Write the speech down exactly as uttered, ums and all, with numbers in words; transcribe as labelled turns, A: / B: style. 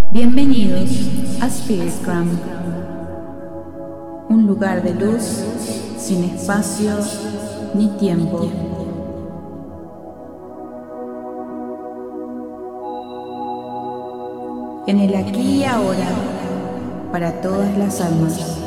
A: Bienvenidos a Spiritgram, un lugar de luz sin espacio ni tiempo. En el aquí y ahora, para todas las almas.